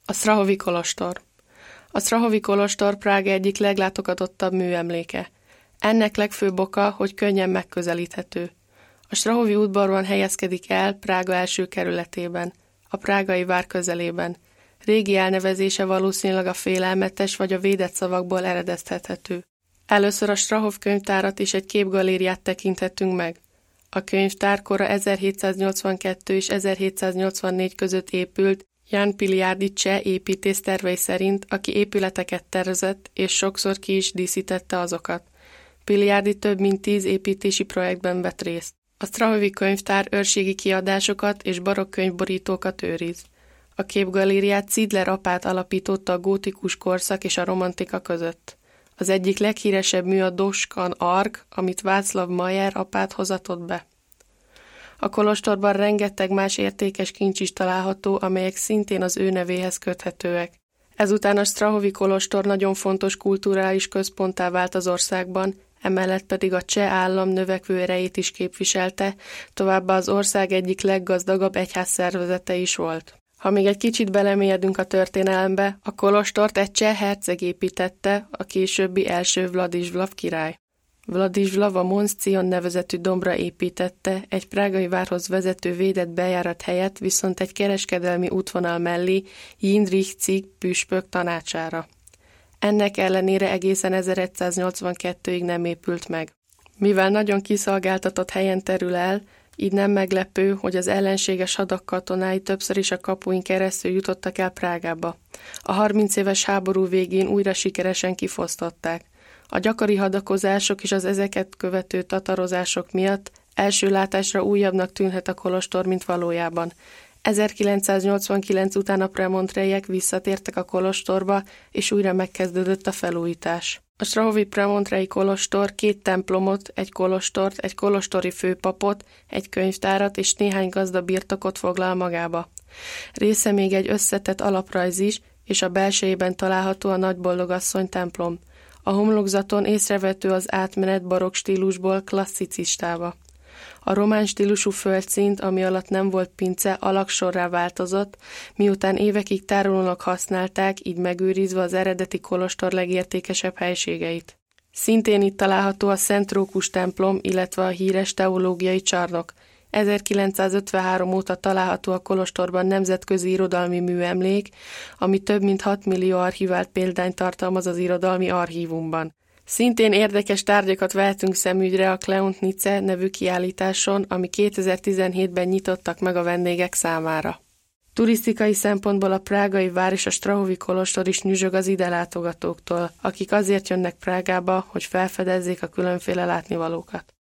A Strahovy kolostor. A Strahovy kolostor Prága egyik leglátogatottabb műemléke. Ennek legfőbb oka, hogy könnyen megközelíthető. A Strahovy udvarban helyezkedik el Prága első kerületében, a prágai vár közelében. Régi elnevezése valószínűleg a félelmetes vagy a védett szavakból eredeztethető. Először a Strahov könyvtárat és egy képgalériát tekinthettünk meg. A könyvtár kora 1782 és 1784 között épült Jan Piliárdi cseh építész tervei szerint, aki épületeket tervezett és sokszor ki is díszítette azokat. Piliárdi több mint 10 építési projektben vett részt. A Strahovy könyvtár őrségi kiadásokat és barokk könyvborítókat őriz. A képgalériát Szidler apát alapította a gótikus korszak és a romantika között. Az egyik leghíresebb mű a Doskan Ark, amit Václav Mayer apát hozatott be. A kolostorban rengeteg más értékes kincs is található, amelyek szintén az ő nevéhez köthetőek. Ezután a Strahovy kolostor nagyon fontos kulturális központtá vált az országban, emellett pedig a cseh állam növekvő erejét is képviselte, továbbá az ország egyik leggazdagabb egyházszervezete is volt. Ha még egy kicsit belemélyedünk a történelembe, a kolostort egy cseh herceg építette, a későbbi első Vladislav király. Vladislav a Mons Cion nevezetű dombra építette, egy prágai várhoz vezető védett bejárat helyett viszont egy kereskedelmi útvonal mellé Jindřich Cig püspök tanácsára. Ennek ellenére egészen 1182-ig nem épült meg. Mivel nagyon kiszolgáltatott helyen terül el, így nem meglepő, hogy az ellenséges hadak katonái többször is a kapuin keresztül jutottak el Prágába. A 30 éves háború végén újra sikeresen kifosztották. A gyakori hadakozások és az ezeket követő tatarozások miatt első látásra újabbnak tűnhet a kolostor, mint valójában. 1989 után a premontrejek visszatértek a kolostorba, és újra megkezdődött a felújítás. A Strahovy premontrei kolostor 2 templomot, egy kolostort, egy kolostori főpapot, egy könyvtárat és néhány gazda birtokot foglal magába. Része még egy összetett alaprajz is, és a belsejében található a Nagyboldogasszony templom. A homlokzaton észrevehető az átmenet barokk stílusból klasszicistába. A román stílusú földszint, ami alatt nem volt pince, alagsorrá változott, miután évekig tárolónak használták, így megőrizve az eredeti kolostor legértékesebb helységeit. Szintén itt található a Szent Rókus templom, illetve a híres teológiai csarnok. 1953 óta található a kolostorban nemzetközi irodalmi műemlék, ami több mint 6 millió archivált példányt tartalmaz az irodalmi archívumban. Szintén érdekes tárgyakat vehetünk szemügyre a Kleontnice nevű kiállításon, ami 2017-ben nyitottak meg a vendégek számára. Turisztikai szempontból a prágai vár és a Strahovy kolostor is nyüzsög az ide látogatóktól, akik azért jönnek Prágába, hogy felfedezzék a különféle látnivalókat.